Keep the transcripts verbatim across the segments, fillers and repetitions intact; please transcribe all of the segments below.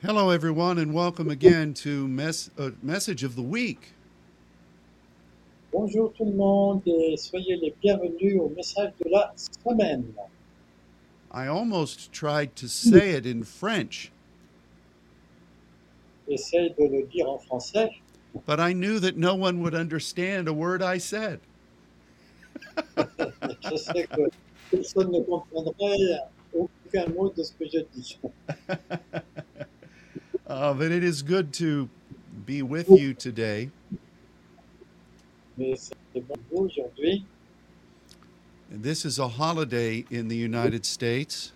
Hello, everyone, and welcome again to Mess- uh, Message of the Week. Bonjour tout le monde et soyez les bienvenus au message de la semaine. I almost tried to say it in French, J'essaie de le dire en français, but I knew that no one would understand a word I said. mais je sais que personne ne comprendrait aucun mot de ce que je dis. Uh, but it is good to be with you today. Mais c'est bon pour vous aujourd'hui. This is a holiday in the United States.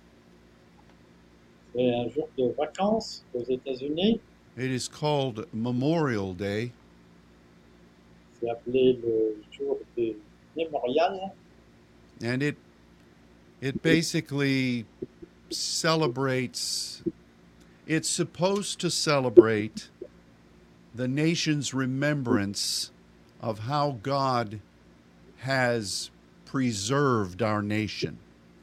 C'est un jour de vacances aux États-Unis. It is called Memorial Day, C'est appelé le jour du mémorial. and it it basically celebrates. It's supposed to celebrate the nation's remembrance of how God has preserved our nation.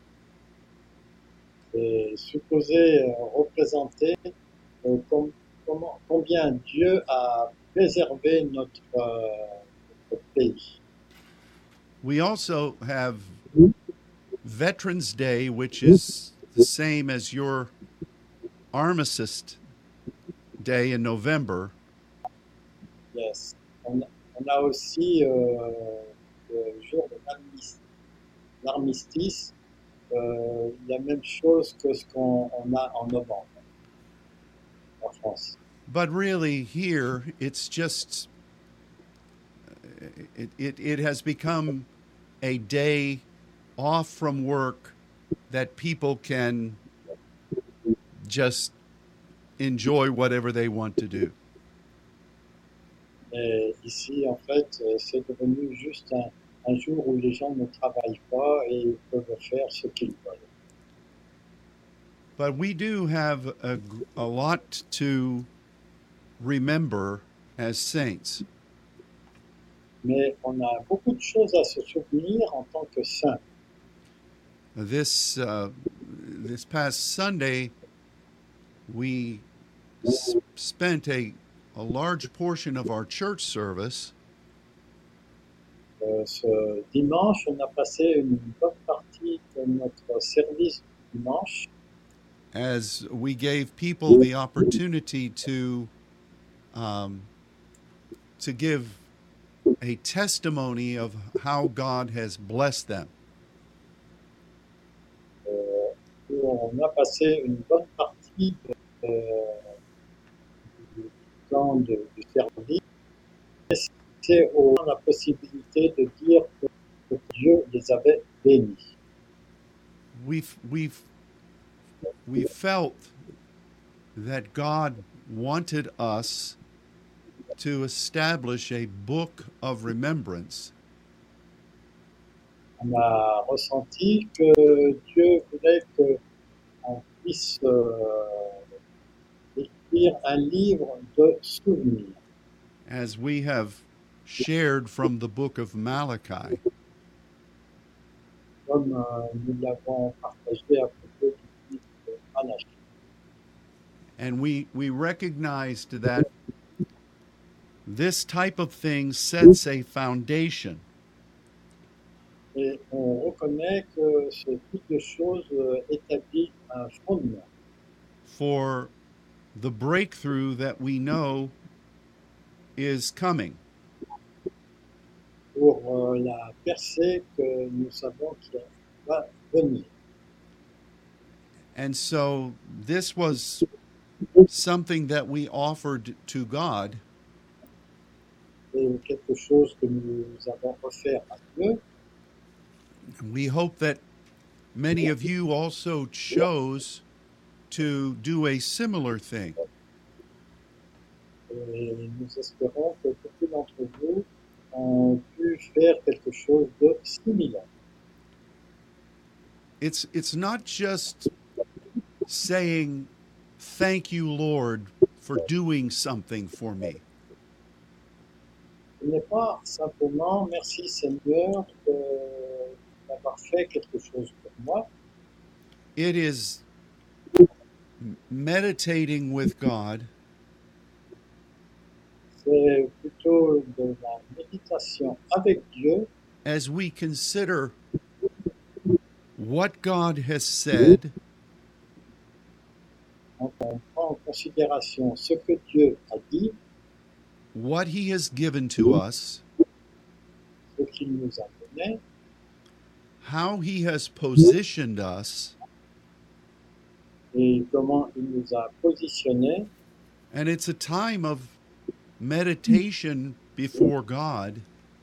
C'est supposé euh, représenter euh, com- comment, combien Dieu a préservé notre, euh, notre pays. We also have Veterans Day, which is the same as your Armistice Day in November. Yes. On, on a aussi euh, le jour de l'armistice, l'armistice, euh, la même chose que ce qu'on on a en novembre en France. But really, here, it's just, it, it, it has become a day off from work that people can just enjoy whatever they want to do. Et ici, en fait, euh, c'est devenu juste un, un jour où les gens ne travaillent pas et ils peuvent faire ce qu'ils veulent. But we do have a, a lot to remember as saints. Mais on a beaucoup de choses à se souvenir en tant que saints. This uh, this past Sunday, we s- spent a a large portion of our church service Euh, ce dimanche, on a passé une bonne partie de notre service du dimanche as we gave people the opportunity to um, to give a testimony of how God has blessed them. euh, où on a passé une bonne partie de, euh, du temps de- du service. C'est au la possibilité de dire que, que Dieu les avait bénis. We've we've we felt that God wanted us to establish a book of remembrance On a ressenti que Dieu voulait qu'on puisse euh, écrire un livre de souvenirs, as we have shared from the book of Malachi. comme euh, nous l'avons partagé à propos du livre de Malachie. And we, we recognized that this type of thing sets a foundation Et on reconnaît que ce type de choses euh, établit un fondement for the breakthrough that we know is coming. pour euh, la percée que nous savons qui va venir. And so this was something that we offered to God, C'est quelque chose que nous avons offert à Dieu. we hope that many of you also chose to do a similar thing. Et nous espérons que beaucoup d'entre vous ont pu faire quelque chose de similaire. It's it's not just saying thank you, Lord, for doing something for me. Ce n'est pas simplement merci Seigneur de- d'avoir fait quelque chose pour moi, It is meditating with God c'est plutôt de la méditation avec Dieu as we consider what God has said quand on prend en considération ce que Dieu a dit, what he has given to us, ce qu'il nous a donné, how he has positioned us, et comment il nous a positionnés. and it's a time of meditation before God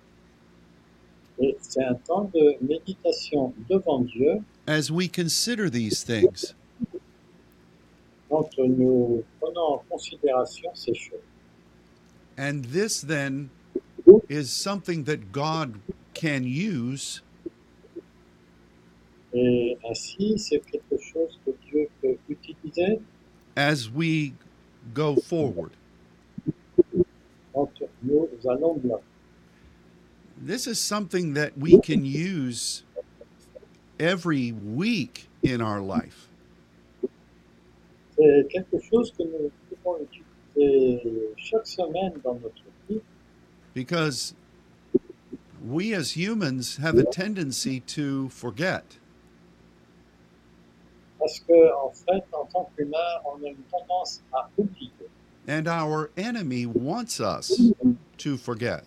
Et c'est un temps de méditation devant Dieu as we consider these things. quand nous prenons en considération ces choses. And this then is something that God can use Et ainsi, c'est quelque chose que Dieu peut utiliser as we go forward. quand nous allons bien. This is something that we can use every week in our life. C'est quelque chose que nous pouvons utiliser chaque semaine dans notre vie Because we as humans have a tendency to forget. parce que, en fait, en tant qu'humain, on a une tendance à oublier. And our enemy wants us to forget.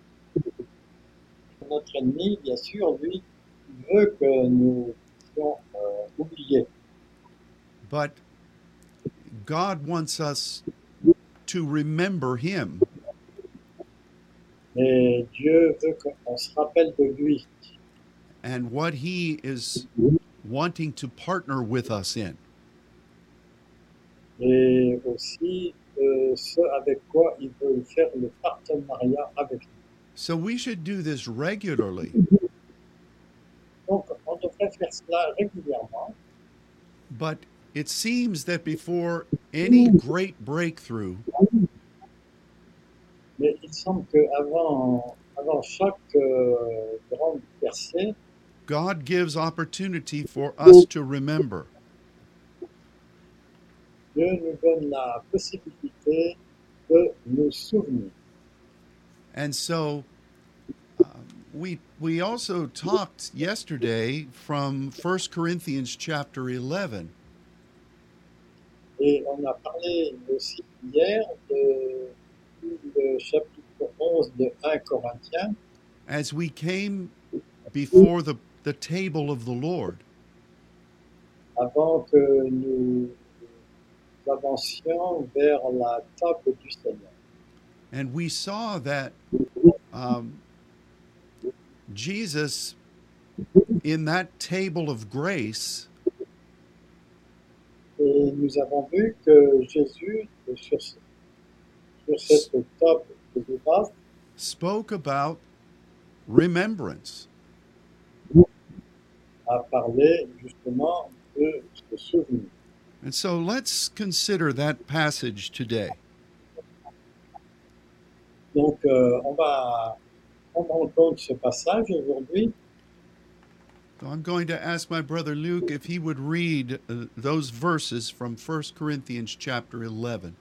Notre ennemi, bien sûr, lui, il veut que nous puissions euh, oublier. But God wants us to remember him. Mais Dieu veut qu'on se rappelle de lui And what he is wanting to partner with us in. et aussi euh, ce avec quoi il veut faire le partenariat avec nous. So we should do this regularly. Donc, on devrait faire cela régulièrement, But it seems that before any great breakthrough, mais il semble qu'avant avant chaque euh, grande percée, God gives opportunity for us to remember. Dieu nous donne la possibilité de nous souvenir. And so um, we we also talked yesterday from First Corinthians chapter eleven. Et on a parlé aussi hier de le chapitre onze de un Corinthiens, As we came before the, the table of the Lord, avant que nous avancions vers la table du Seigneur. and we saw that um, Jesus, in that table of grace, Et nous avons vu que Jésus, sur, ce- sur cette table de grâce, spoke about remembrance. a parlé justement de ce souvenir. And so let's consider that passage today. Donc, euh, on va prendre en compte ce passage aujourd'hui. So I'm going to ask my brother Luke if he would read uh, those verses from First Corinthians chapter eleven.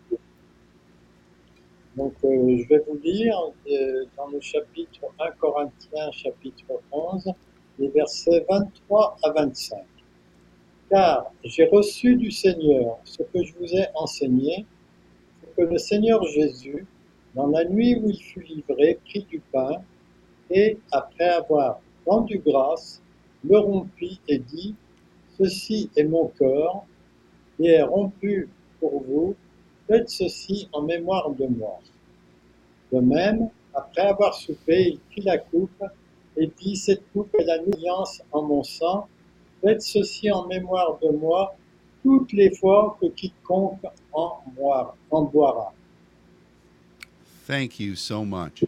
Donc, euh, je vais vous lire euh, dans le chapitre un Corinthiens, chapitre onze, les versets vingt-trois à vingt-cinq. Car j'ai reçu du Seigneur ce que je vous ai enseigné, c'est que le Seigneur Jésus, dans la nuit où il fut livré, prit du pain et, après avoir rendu grâce, le rompit et dit, « Ceci est mon corps, qui est rompu pour vous, faites ceci en mémoire de moi. » De même, après avoir soupé, il prit la coupe et dit, « Cette coupe est la nouvelle alliance en mon sang, faites ceci en mémoire de moi, toutes les fois que quiconque en boira. En boira. » Thank you so much.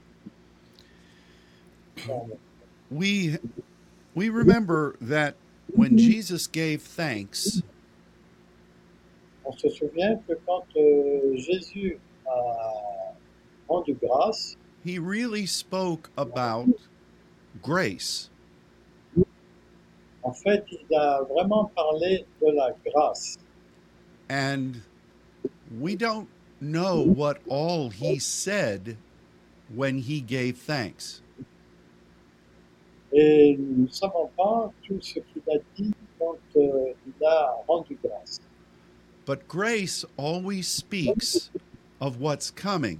We we remember that when Jesus gave thanks, On se souvient que quand euh, Jésus a rendu grâce, he really spoke about grace. en fait, il a vraiment parlé de la grâce. And we don't know what all he said when he gave thanks. Et nous ne savons pas tout ce qu'il a dit quand euh, il a rendu grâce. But grace always speaks of what's coming.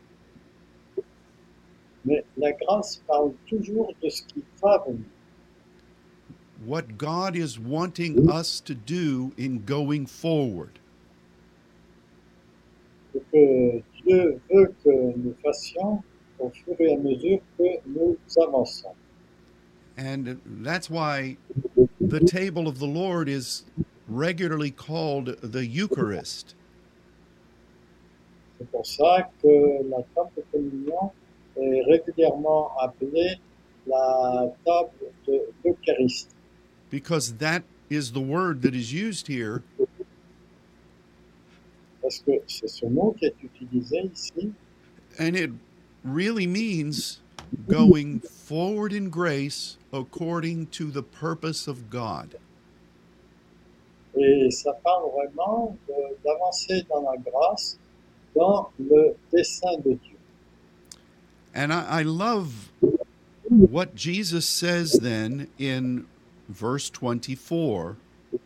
Mais la grâce parle toujours de ce qui va venir, What God is wanting us to do in going forward. ce que Dieu veut que nous fassions au fur et à mesure que nous avançons. And that's why the table of the Lord is regularly called the Eucharist. C'est pour ça que la table de communion est régulièrement appelée la table de l'Eucharistie, Because that is the word that is used here, parce que c'est ce mot qui est utilisé ici, and it really means going forward in grace according to the purpose of God. et ça parle vraiment de- d'avancer dans la grâce, dans le dessein de Dieu. And I, I love what Jesus says then in verse twenty-four,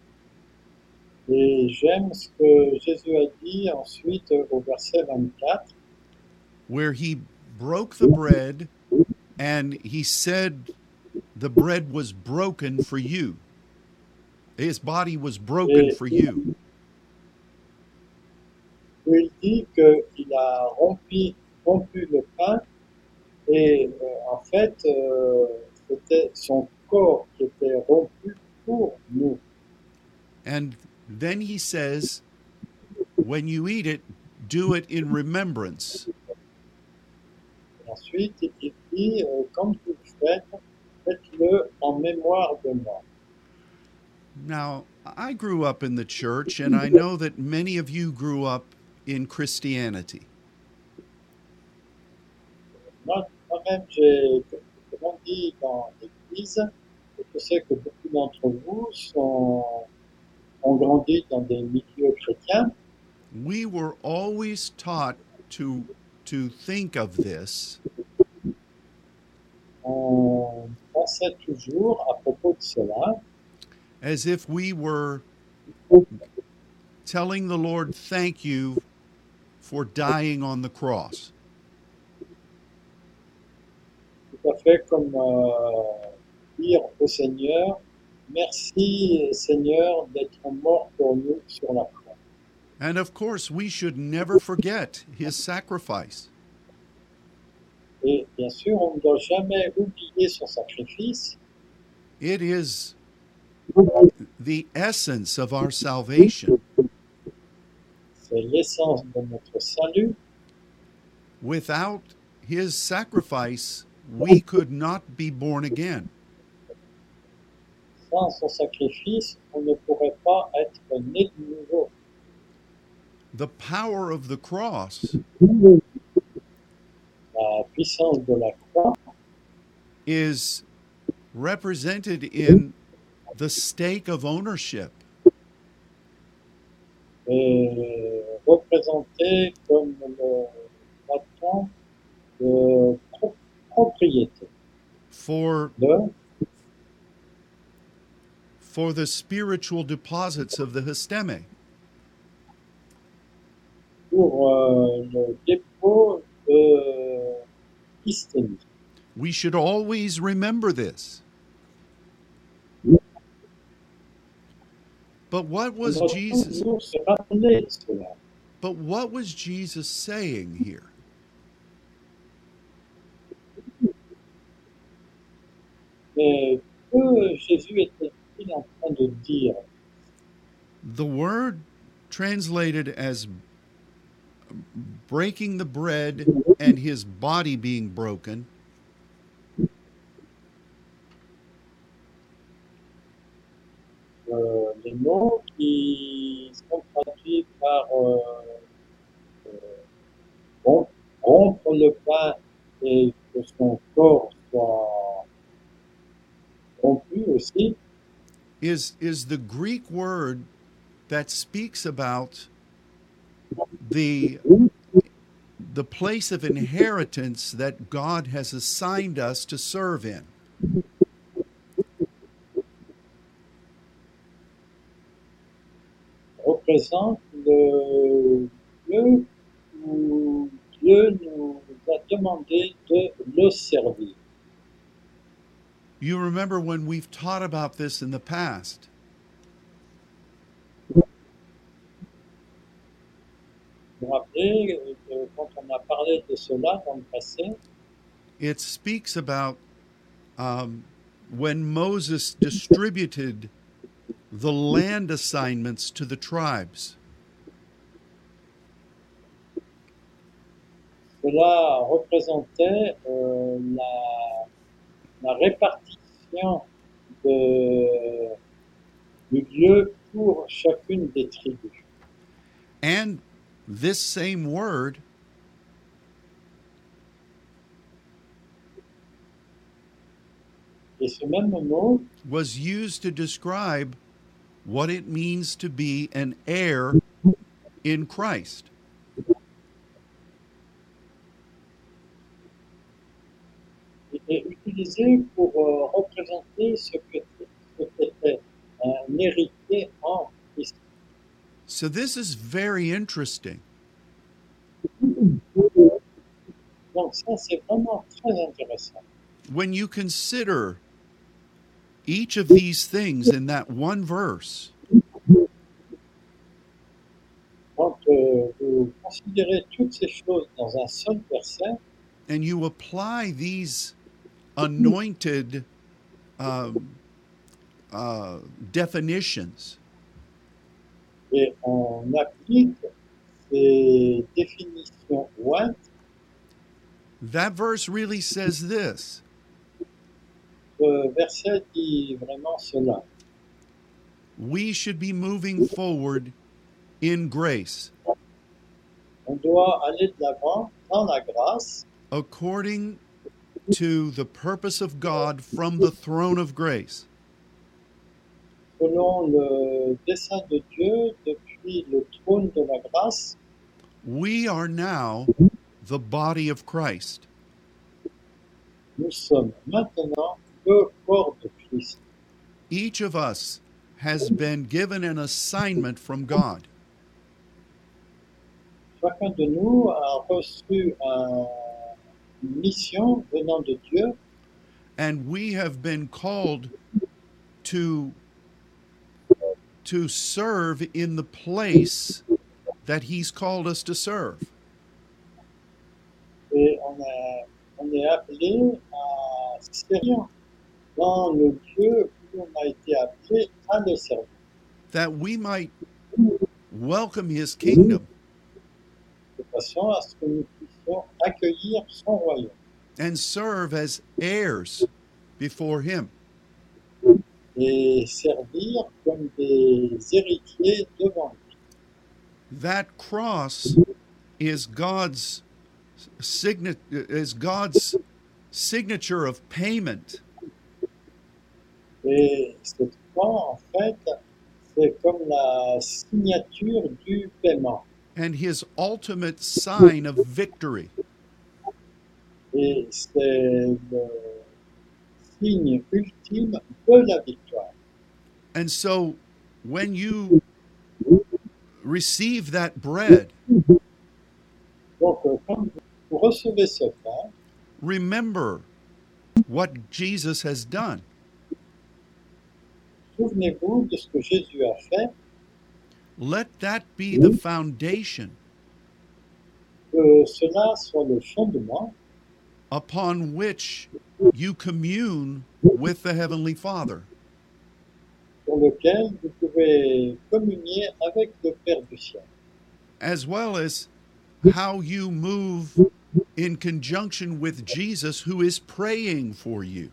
Et j'aime ce que Jésus a dit ensuite au verset vingt-quatre, where he broke the bread and he said the bread was broken for you. His body was broken for you. où il dit qu'il a rompu, rompu le pain et euh, en fait euh, c'était son corps qui était rompu pour nous. And then he says, when you eat it, do it in remembrance. Et ensuite il dit, euh, comme vous le faites, faites-le en mémoire de moi. Now, I grew up in the church, and I know that many of you grew up in Christianity. Moi, moi-même, j'ai grandi dans l'église et je sais que beaucoup d'entre vous sont, ont grandi dans des milieux chrétiens. We were always taught to, to think of this On pensait toujours à propos de cela as if we were telling the Lord, thank you for dying on the cross. tout à fait comme euh, dire au Seigneur, merci Seigneur d'être mort pour nous sur la croix. And of course, we should never forget his sacrifice. Et bien sûr, on ne doit jamais oublier son sacrifice. It is the essence of our salvation. C'est l'essence de notre salut. Without his sacrifice, we could not be born again. Sans son sacrifice, on ne pourrait pas être né de nouveau. The power of the cross La puissance de la croix is represented in the stake of ownership. est représentée comme le bâton de pro- propriété For, de, for the spiritual deposits of the histeme. pour euh, le dépôt de l'hystémie. We should always remember this. But what On was doit Jesus toujours se rappeler de cela. but what was Jesus saying here? Mais que Jésus était-il en train de dire? The word translated as breaking the bread and his body being broken Euh, les mots qui sont traduits par euh, euh, rom- rompre le pain et que son corps soit rompu aussi, is is the Greek word that speaks about the the place of inheritance that God has assigned us to serve in. Représente le lieu où Dieu nous a demandé de le servir. You remember when we've taught about this in the past. Vous vous rappelez que quand on a parlé de cela dans le passé, It speaks about um, when Moses distributed the land assignments to the tribes. cela représentait euh, la, la répartition de, du lieu pour chacune des tribus. And this same word Et ce même mot was used to describe what it means to be an heir in Christ. est utilisé pour euh, représenter ce que ce qu'était un héritier en Christ. So this is very interesting. Donc ça, c'est vraiment très intéressant. When you consider each of these things in that one verse, Quand euh, vous considérez toutes ces choses dans un seul verset, and you apply these anointed um, uh, definitions, et on applique ces définitions ointes, that verse really says this: ce verset dit vraiment cela. we should be moving forward in grace, On doit aller de l'avant dans la grâce, according to the purpose of God from the throne of grace. selon le dessein de Dieu depuis le trône de la grâce. We are now the body of Christ. Nous sommes maintenant le corps de Christ. Each of us has been given an assignment from God. Chacun de nous a reçu un- une mission venant de Dieu And we have been called to, to serve in the place that He's called us to serve. et on, a- on est appelé à servir dans le lieu où on a été appelé à le servir, That we might welcome His kingdom de façon à ce que nous puissions accueillir son royaume and serve as heirs before Him. et servir comme des héritiers devant lui. That cross is God's signet is God's signature of payment. Et cette croix, en fait, c'est comme la signature du paiement. And His ultimate sign of victory. Et c'est le signe ultime de la victoire. And so when you receive that bread, Donc, euh, quand vous recevez ce pain, remember what Jesus has done. souvenez-vous de ce que Jésus a fait, Let that be the foundation que cela soit le fondement upon which you commune with the Heavenly Father. sur lequel vous pouvez communier avec le Père du ciel, As well as how you move in conjunction with Jesus, who is praying for you.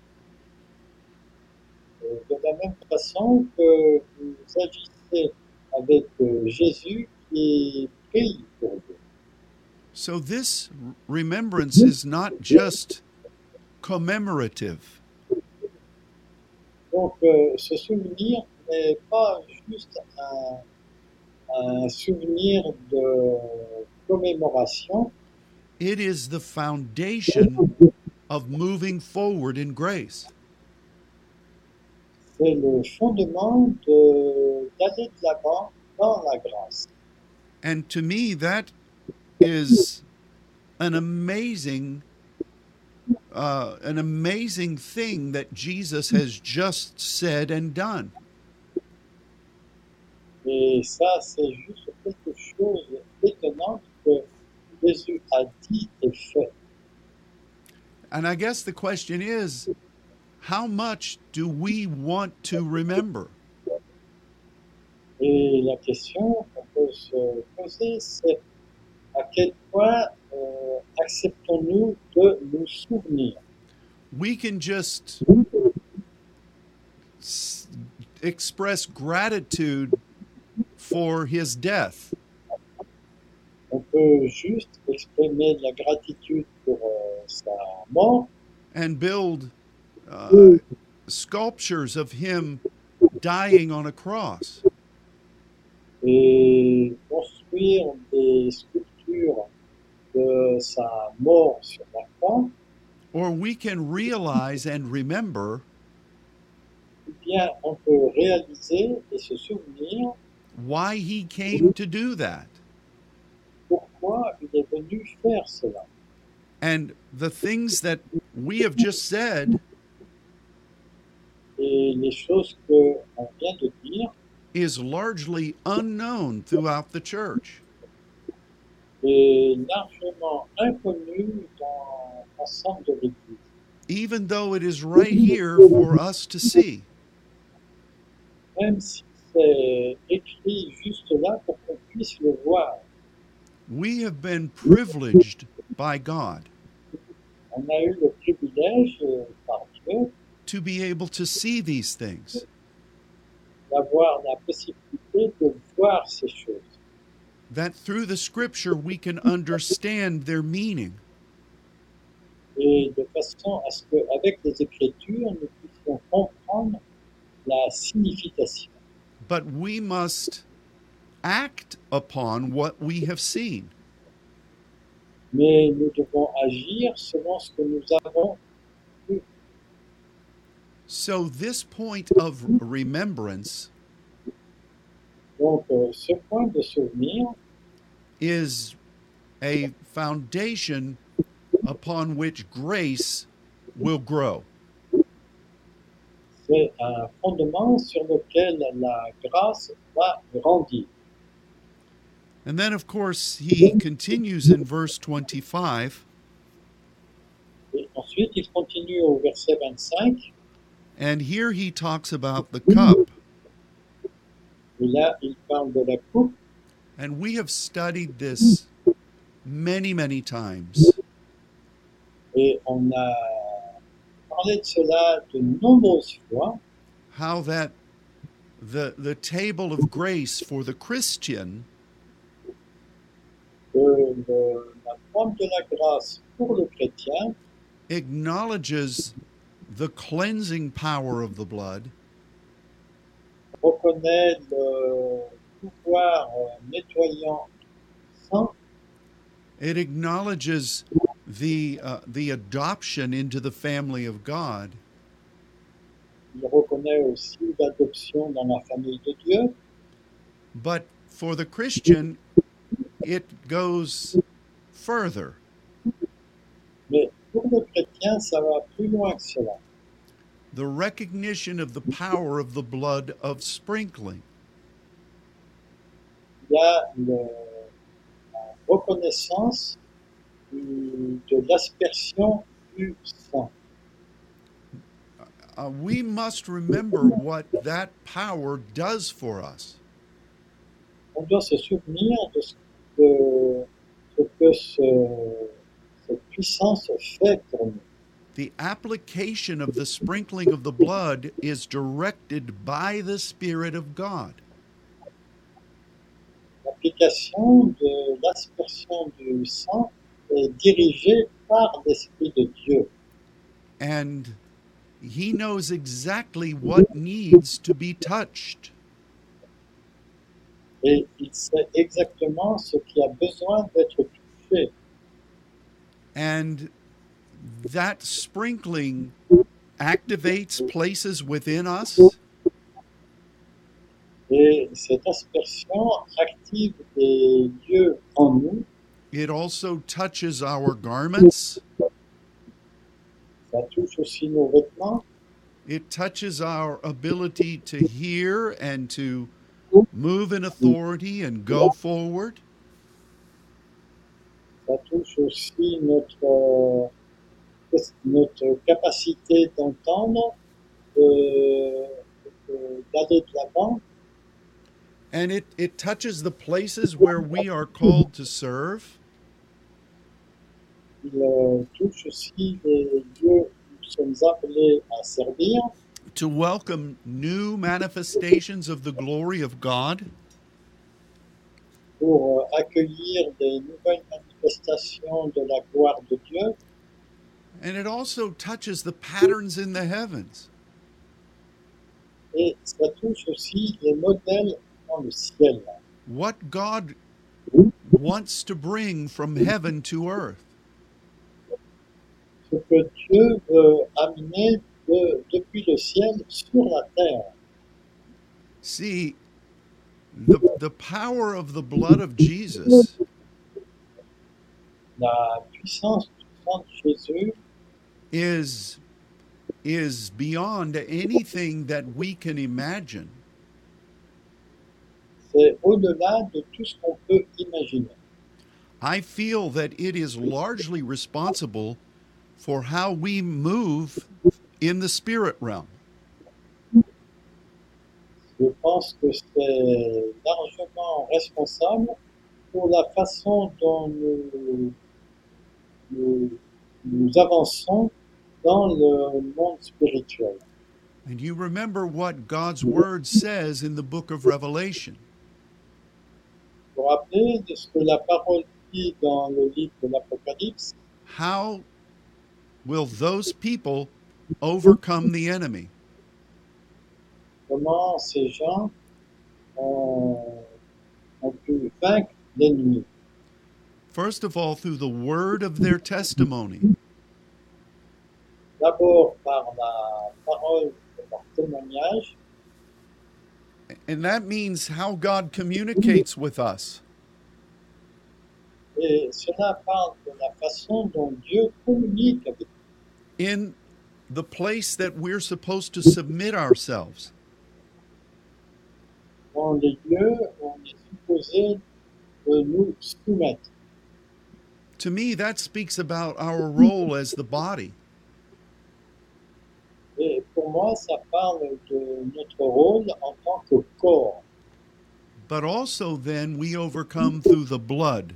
Euh, de la même façon que vous agissez avec euh, Jésus qui prie pour vous. So this remembrance is not just commemorative, Donc, euh, ce souvenir n'est pas juste un, un souvenir de commémoration. It is the foundation of moving forward in grace. C'est le fondement de, d'aller de l'avant dans la grâce. And to me, that is an amazing, uh, an amazing thing that Jesus has just said and done. Et ça, c'est juste quelque chose d'étonnant que Jésus a dit et fait. And I guess the question is, how much do we want to remember? Et la question qu'on peut se poser, c'est à quel point euh, acceptons-nous de nous souvenir? We can just s- express gratitude for his death, On peut juste exprimer de la gratitude pour euh, sa mort and build uh, sculptures of him dying on a cross. et construire des sculptures de sa mort sur la croix, Or we can realize and remember ou bien on peut réaliser et se souvenir why he came to do that. pourquoi il est venu faire cela. And the things that we have just said Et les choses qu'on vient de dire is largely unknown throughout the church. est largement inconnues dans l'ensemble de l'Église, Even though it is right here for us to see. même si c'est écrit juste là pour qu'on puisse le voir. We have been privileged by God On a eu le privilège euh, par Dieu to be able to see these things. d'avoir la possibilité de voir ces choses. That through the scripture we can understand their meaning. Et de façon à ce qu'avec les Écritures, nous puissions comprendre la signification. But we must act upon what we have seen. Mais nous devons agir selon ce que nous avons vu. So this point of remembrance Donc, euh, ce point de souvenir is a foundation upon which grace will grow. c'est un fondement sur lequel la grâce va grandir. And then, of course, he continues in verse twenty-five, Et ensuite, il continue au verset vingt-cinq, and here he talks about the cup. et là, il parle de la coupe, And we have studied this many, many times. et on a parlé de cela de nombreuses fois, How that the, the table of grace for the Christian que le- la forme de la grâce pour le chrétien acknowledges the cleansing power of the blood, reconnaît le pouvoir euh, nettoyant du sang, it acknowledges the, uh, the adoption into the family of God, il reconnaît aussi l'adoption dans la famille de Dieu, but for the Christian, it goes further. mais pour le chrétien, ça va plus loin que cela. The recognition of the power of the blood of sprinkling. Il y a le- la reconnaissance du- de l'aspersion du sang. Uh, we must remember what that power does for us. On doit se souvenir de ce que, ce que ce- cette puissance fait pour nous. The application of the sprinkling of the blood is directed by the Spirit of God. L'application de l'aspersion du sang est dirigée par l'Esprit de Dieu. And He knows exactly what needs to be touched. Et il sait exactement ce qui a besoin d'être touché. And that sprinkling activates places within us. Et cette aspersion active des lieux en nous. It also touches our garments. Ça touche aussi nos vêtements. It touches our ability to hear and to move in authority and go forward. Ça touche aussi notre, euh, notre capacité d'entendre, de, de, d'aller de l'avant. And it, it touches the places where we are called to serve. Il euh, touche aussi les lieux où nous sommes appelés à servir, to welcome new manifestations of the glory of God. pour euh, accueillir des nouvelles manifestations de la gloire de Dieu. And it also touches the patterns in the heavens. Et ça touche aussi les modèles dans le ciel. What God wants to bring from heaven to earth. Ce que Dieu veut amener de, depuis le ciel sur la terre. See, the, the power of the blood of Jesus La puissance du sang de Jésus is, is beyond anything that we can imagine. c'est au-delà de tout ce qu'on peut imaginer. I feel that it is largely responsible for how we move in the spirit realm. Je pense que c'est largement responsable pour la façon dont nous, nous, nous avançons dans le monde spirituel. And you remember what God's word says in the book of Revelation. Vous vous rappelez de ce que la parole dit dans le livre de l'Apocalypse? How will those people overcome the enemy? Comment ces gens ont, ont pu vaincre l'ennemi? First of all, through the word of their testimony. D'abord par la parole de leur témoignage, And that means how God communicates with us. et cela parle de la façon dont Dieu communique avec nous, In the place that we're supposed to submit ourselves. dans les lieux où on est supposé de nous soumettre. To me, that speaks about our role as the body. Et pour moi, ça parle de notre rôle en tant que corps. But also, then, we overcome through the blood.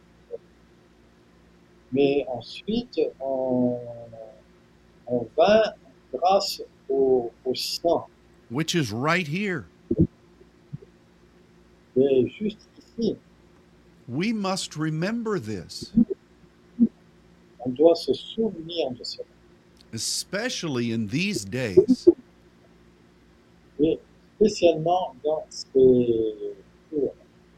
Mais ensuite, on, on vainc grâce au, au sang. Which is right here. Et juste ici, We must remember this, on doit se souvenir de cela. especially in these days. Et spécialement dans ces jours.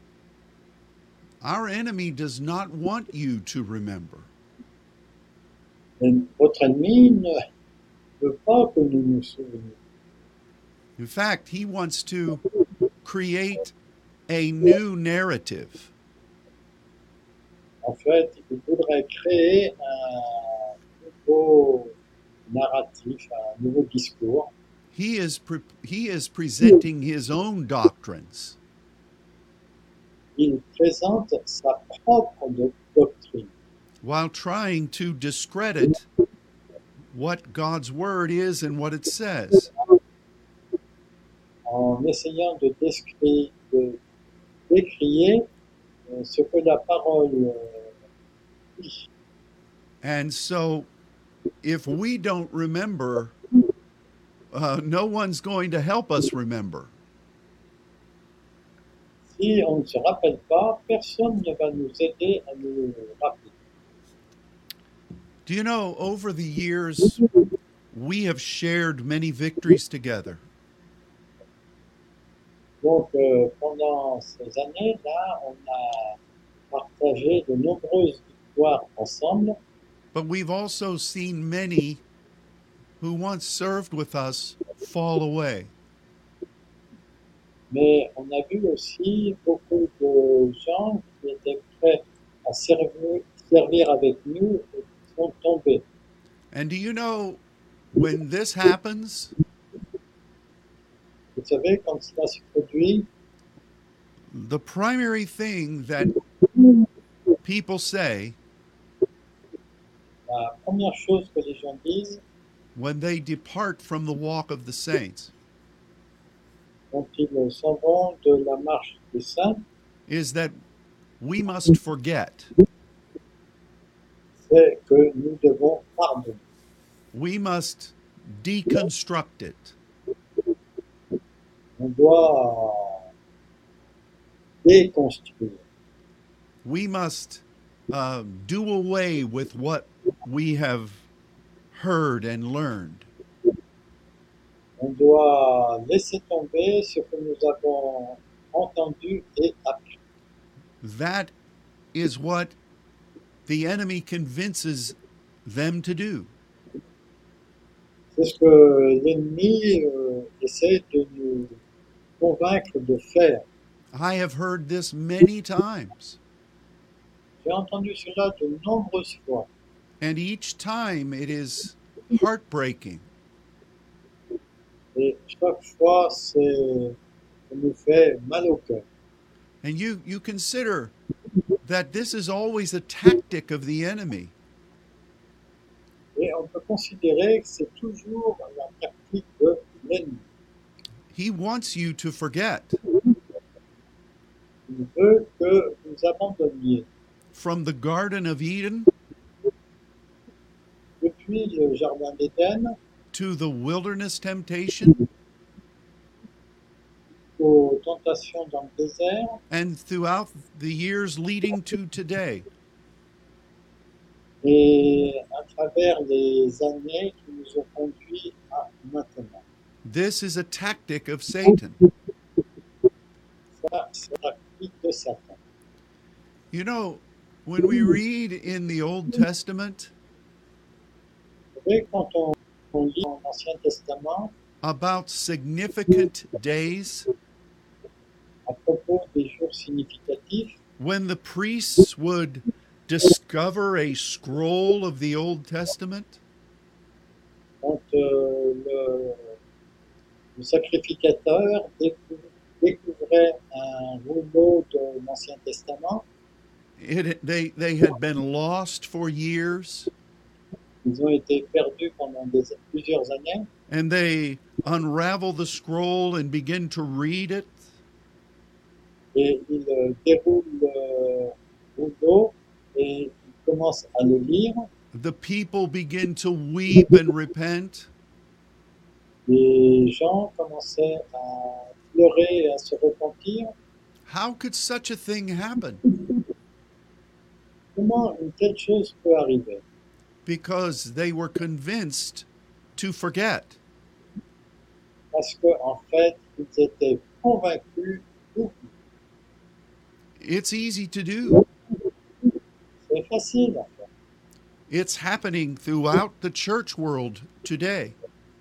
Our enemy does not want you to remember. Mais votre ennemi ne veut pas que nous nous souvenions. In fact, he wants to create a new narrative. En fait, il voudrait créer un nouveau narratif, un nouveau discours. He is pre- he is presenting his own doctrines. Il présente sa propre do- doctrine while trying to discredit what God's word is and what it says. en essayant de, décrire, de décrier euh, ce que la parole euh, dit. And so, if we don't remember, uh, no one's going to help us remember. Si on ne se rappelle pas, personne ne va nous aider à nous rappeler. Do you know, over the years, we have shared many victories together. Donc, euh, pendant ces années-là, on a partagé de nombreuses victoires ensemble, but we've also seen many who once served with us fall away. mais on a vu aussi beaucoup de gens qui étaient prêts à servir, servir avec nous et qui sont tombés. And do you know when this happens, Vous savez, quand cela se produit, the primary thing that people say la première chose que les gens disent when they depart from the walk of the saints quand ils s'en vont de la marche des saints, is that we must forget. c'est que nous devons pardonner. We must deconstruct it. On doit déconstruire. We must uh, do away with what we have heard and learned. On doit laisser tomber ce que nous avons entendu et appris. That is what the enemy convinces them to do. C'est ce que l'ennemi euh, essaie de nous convaincre de faire. I have heard this many times, J'ai entendu cela de nombreuses fois. and each time it is heartbreaking. Et chaque fois, c'est, ça nous fait mal au cœur. And you, you consider that this is always a tactic of the enemy. Et on peut considérer que c'est toujours la tactique de l'ennemi. He wants you to forget Il veut que vous abandonniez. from the Garden of Eden Depuis le Jardin d'Éden to the wilderness temptation aux tentations dans le désert and throughout the years leading to today. et à travers les années qui nous ont conduits à maintenant. This is a tactic of Satan. Ça, c'est la tactique de Satan. You know, when we read in the Old Testament Vous savez, quand on, on lit dans l'Ancien Testament about significant days à propos des jours significatifs, when the priests would discover a scroll of the Old Testament, quand euh, le, le sacrificateur décou- découvrait un rouleau de l'Ancien Testament, it, they, they had been lost for years, ils ont été perdus pendant des, plusieurs années, and they unravel the scroll and begin to read it, et ils euh, déroulent le rouleau et ils commencent à le lire. the people begin to weep and repent. Les gens commençaient à pleurer et à se repentir. How could such a thing happen? Comment une telle chose peut arriver? Because they were convinced to forget. Parce qu'en fait, ils étaient convaincus d'oublier. It's easy to do. C'est facile à faire. It's happening throughout the church world today.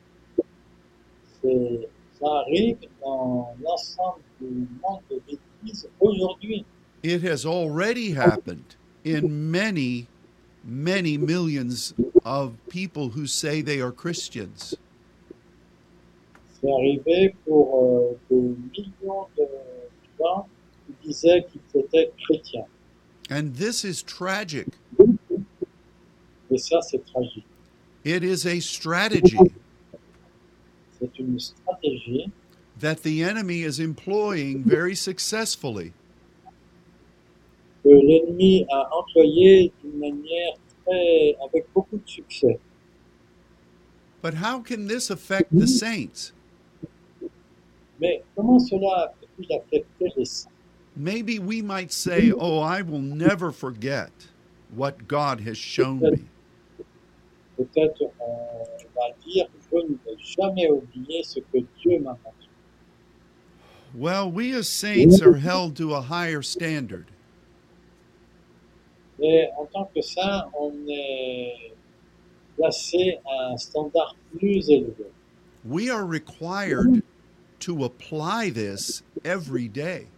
C'est- ça arrive dans l'ensemble du monde de l'Église aujourd'hui. It has already happened in many, many millions of people who say they are Christians. C'est arrivé pour euh, des millions de gens qui disaient qu'ils étaient chrétiens. And this is tragic. Et ça, c'est tragique. It is a strategy C'est une stratégie that the enemy is employing very successfully. que l'ennemi a employée d'une manière très, avec beaucoup de succès. But how can this affect the saints? Mais comment cela peut-il affecter les saints? Maybe we might say, oh, I will never forget what God has shown me. Peut-être on va dire je ne vais jamais oublier ce que Dieu m'a montré. Well, we as saints are held to a higher standard. Et en tant que saint, on est placé à un standard plus élevé. We are required to apply this every day.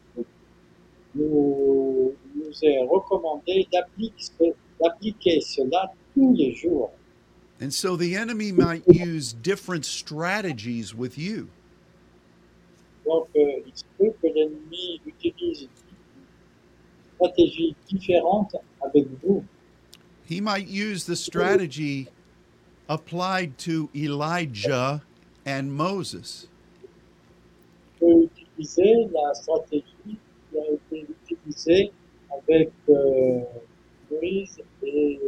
Nous, il nous est recommandé d'appliquer, d'appliquer cela tous les jours. And so the enemy might use different strategies with you. Donc, euh, il se peut que l'ennemi utilise une stratégie différente avec vous. He might use the strategy applied to Elijah and Moses. Il peut utiliser la stratégie qui a été utilisée avec euh, Moïse et,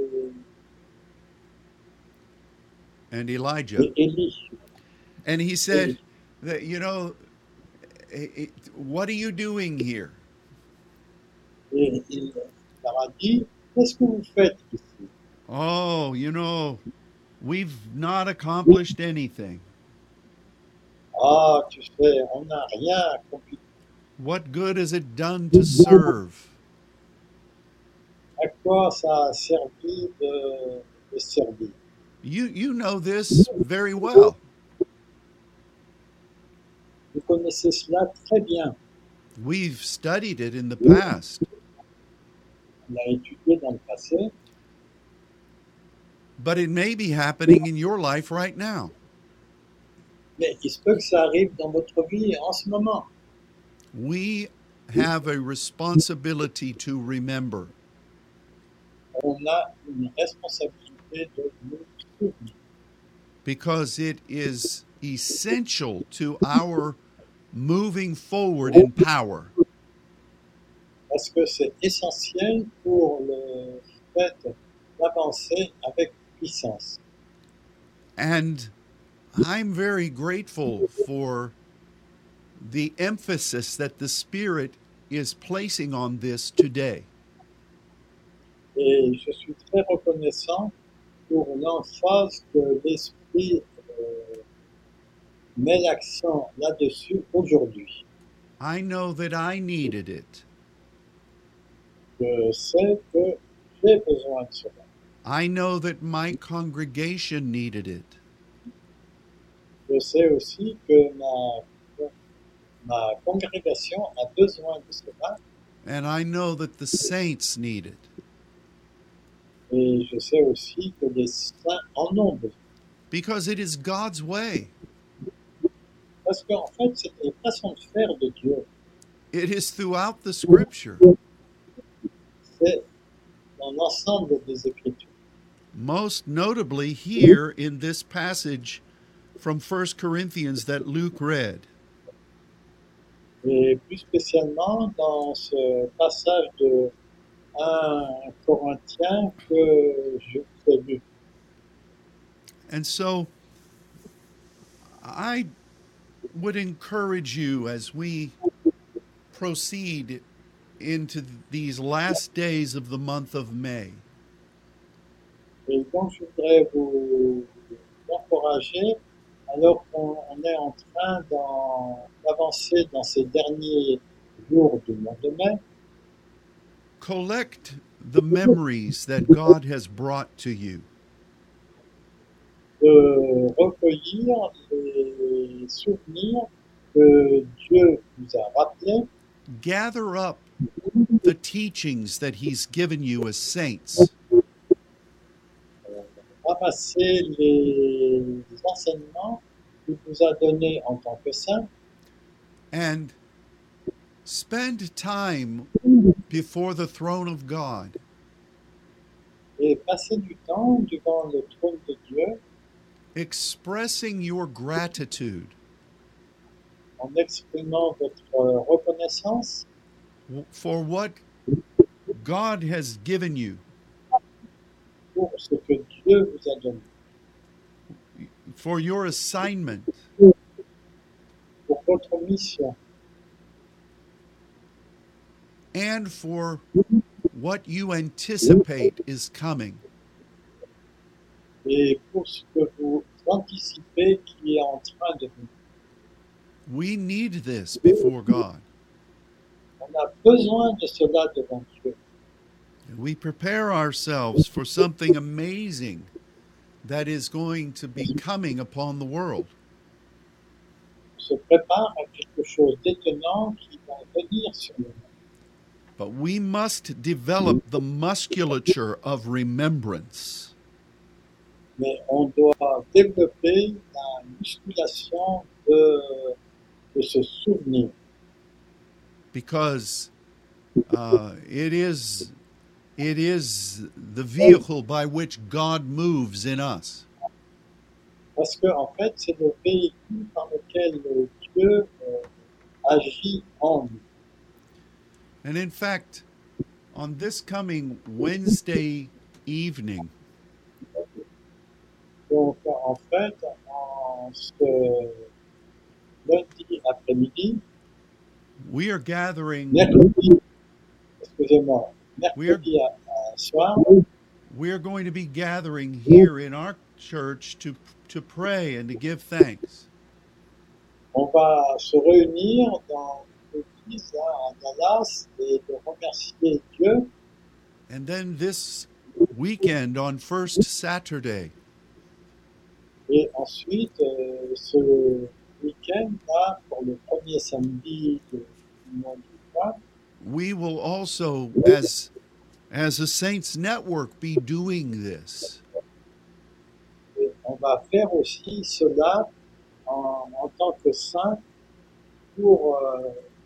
And Elijah. et Élie. And he said that, you know, it, it, what are you doing here? Et il leur a dit, qu'est-ce que vous faites ici? Oh, you know, we've not accomplished anything. Ah, tu sais, on n'a rien accompli. What good has it done to serve? À quoi ça a servi de, de servir? You you know this very well. Vous connaissez cela très bien. We've studied it in the past. On l'a étudié dans le passé, But it may be happening in your life right now. mais il se peut que ça arrive dans votre vie en ce moment. We have a responsibility to remember. On a une responsabilité de nous souvenir. Because it is essential to our moving forward in power. Parce que c'est essentiel pour le fait d'avancer avec puissance. And I'm very grateful for the emphasis that the Spirit is placing on this today. Et je suis très reconnaissant pour l'emphase que l'Esprit euh, met l'accent là-dessus aujourd'hui. I know that I needed it. Je sais que j'ai besoin de cela. I know that my congregation needed it. Je sais aussi que ma, ma congrégation a besoin de cela. And I know that the saints need it. Et je sais aussi que les saints en ont besoin. Because it is God's way. Parce qu'en fait, c'est une façon de faire de Dieu. It is throughout the Scripture. C'est dans l'ensemble des Écritures. Most notably here in this passage from First Corinthians that Luke read. Et plus spécialement dans ce passage de un Corinthiens que je vous ai lu. And so I would encourage you as we proceed into these last days of the month of May. Et donc, je voudrais vous encourager, alors qu'on on est en train d'en- d'avancer dans ces derniers jours du mois de mai, Collect the memories that God has brought to you. de recueillir les souvenirs que Dieu vous a rappelés, Gather up the teachings that He's given you as saints. euh, ramasser les enseignements qu'il vous a donnés en tant que saint, And spend time before the throne of God, et passer du temps devant le trône de Dieu expressing your gratitude en exprimant votre euh, reconnaissance for what God has given you, pour ce que Dieu vous a donné, for your assignment, pour votre mission and for what you anticipate is coming. et pour ce que vous anticipez qui est en train de venir. We need this before God. On a besoin de cela devant Dieu. We prepare ourselves for something amazing that is going to be coming upon the world. On se prépare à quelque chose d'étonnant qui va venir sur nous. But we must develop the musculature of remembrance. Mais on doit développer la musculation de, de se souvenir. Because uh, it is it is the vehicle by which God moves in us. Parce que en fait, c'est le véhicule par lequel Dieu euh, agit en nous. And in fact, on this coming Wednesday evening, Donc, en fait, en ce lundi après-midi, we are gathering mercredi, excusez-moi, We are- mercredi à, à soir, we are going to be gathering here in our church to to pray and to give thanks. on va se réunir dans l'église là, à Dallas et de remercier Dieu. And then this weekend on first Saturday, Et ensuite, euh, ce week-end, là, pour le premier samedi de- du mois du mois, we will also, as as a Saints Network, be doing this. et on va faire aussi cela en, en tant que saint pour, euh,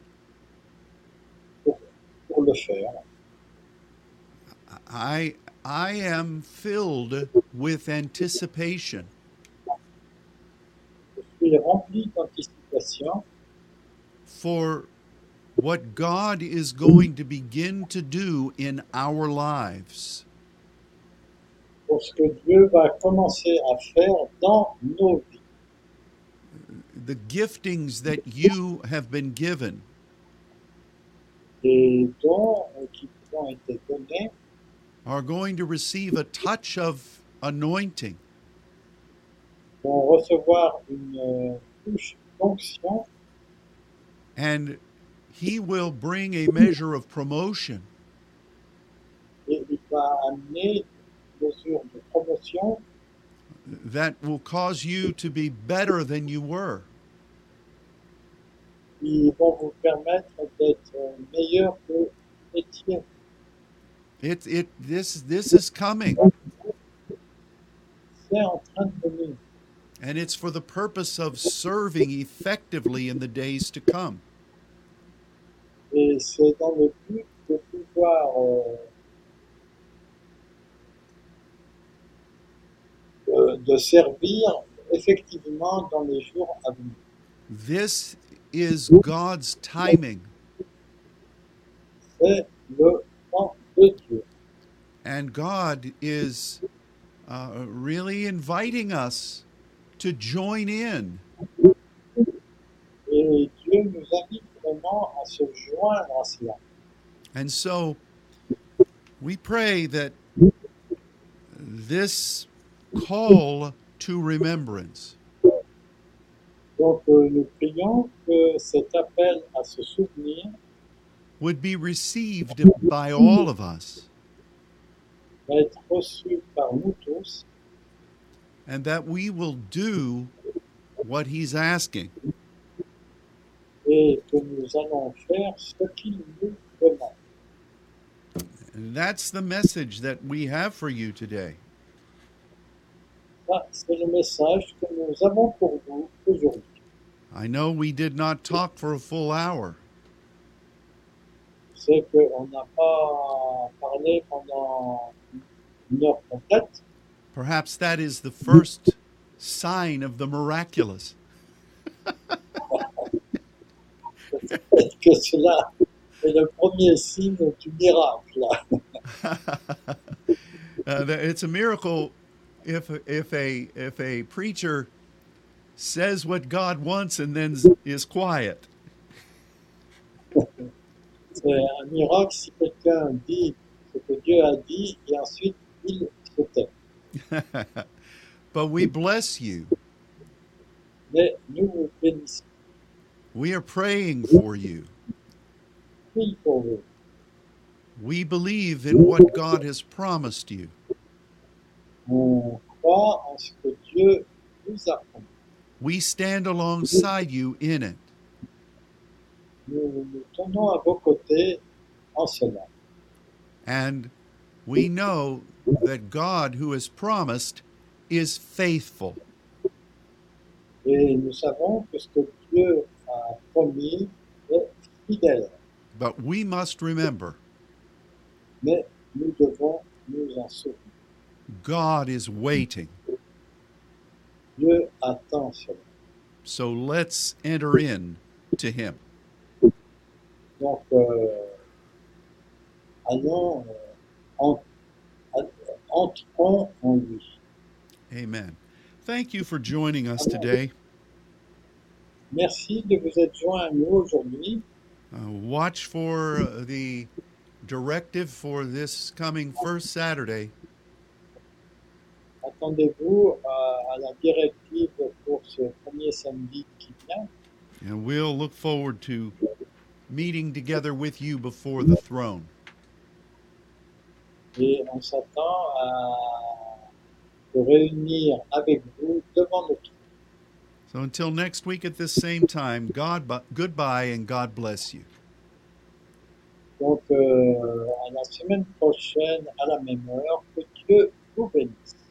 pour, pour le faire. I I am filled with anticipation Je suis rempli d'anticipation for what God is going to begin to do in our lives. pour ce que Dieu va commencer à faire dans nos vies. The giftings that you have been given, Les dons euh, qui vous ont été donnés are going to receive a touch of anointing, vont recevoir une euh, touche d'onction and He will bring a measure of promotion. et il va amener une mesure de promotion That will cause you to be better than you were. qui vont vous permettre d'être meilleur que vous étiez. It it this this is coming, C'est en train de venir. and it's for the purpose of serving effectively in the days to come. Et c'est dans le but de pouvoir euh, de, de servir effectivement dans les jours à venir. This is God's timing, C'est le temps de Dieu. and God is uh, really inviting us to join in. Et Dieu nous invite vraiment à se joindre à cela. And so we pray that this call to remembrance Donc euh, nous prions que cet appel à se souvenir would be received by all of us, va être reçu par nous tous and that we will do what He's asking. et que nous allons faire ce qu'il nous demande. And that's the message that we have for you today. Ça, c'est le message que nous avons pour vous aujourd'hui. I know we did not talk for a full hour, C'est qu'on n'a pas parlé pendant une heure complète. perhaps that is the first sign of the miraculous. Peut-être que cela est le premier signe du miracle. Uh, that it's a miracle if if a if a preacher says what God wants and then is quiet. C'est un miracle si quelqu'un dit ce que Dieu a dit et ensuite il se tait. But we bless you Mais nous vous bénissons We are praying for you. Prie pour vous. We believe in what God has promised you. On croit en ce que Dieu nous a promis. We stand alongside you in it. Nous nous tenons à vos côtés en cela. And we know that God, who has promised, is faithful. Et nous savons que ce que Dieu a promis est fidèle. But we must remember, Mais nous devons nous en souvenir. God is waiting. Dieu attend cela. So let's enter in to him. Donc, euh, allons, euh, en, en- entrons en lui. Amen. Thank you for joining us today. Merci de vous être joints à nous aujourd'hui. Uh, watch for uh, the directive for this coming first Saturday. Attendez-vous à, à la directive pour ce premier samedi qui vient. And we'll look forward to meeting together with you before the throne. Et on s'attend à se réunir avec vous devant le trône. So until next week at this same time, God, bu- goodbye and God bless you. Donc, euh, à la semaine prochaine, à la même heure, que Dieu vous bénisse.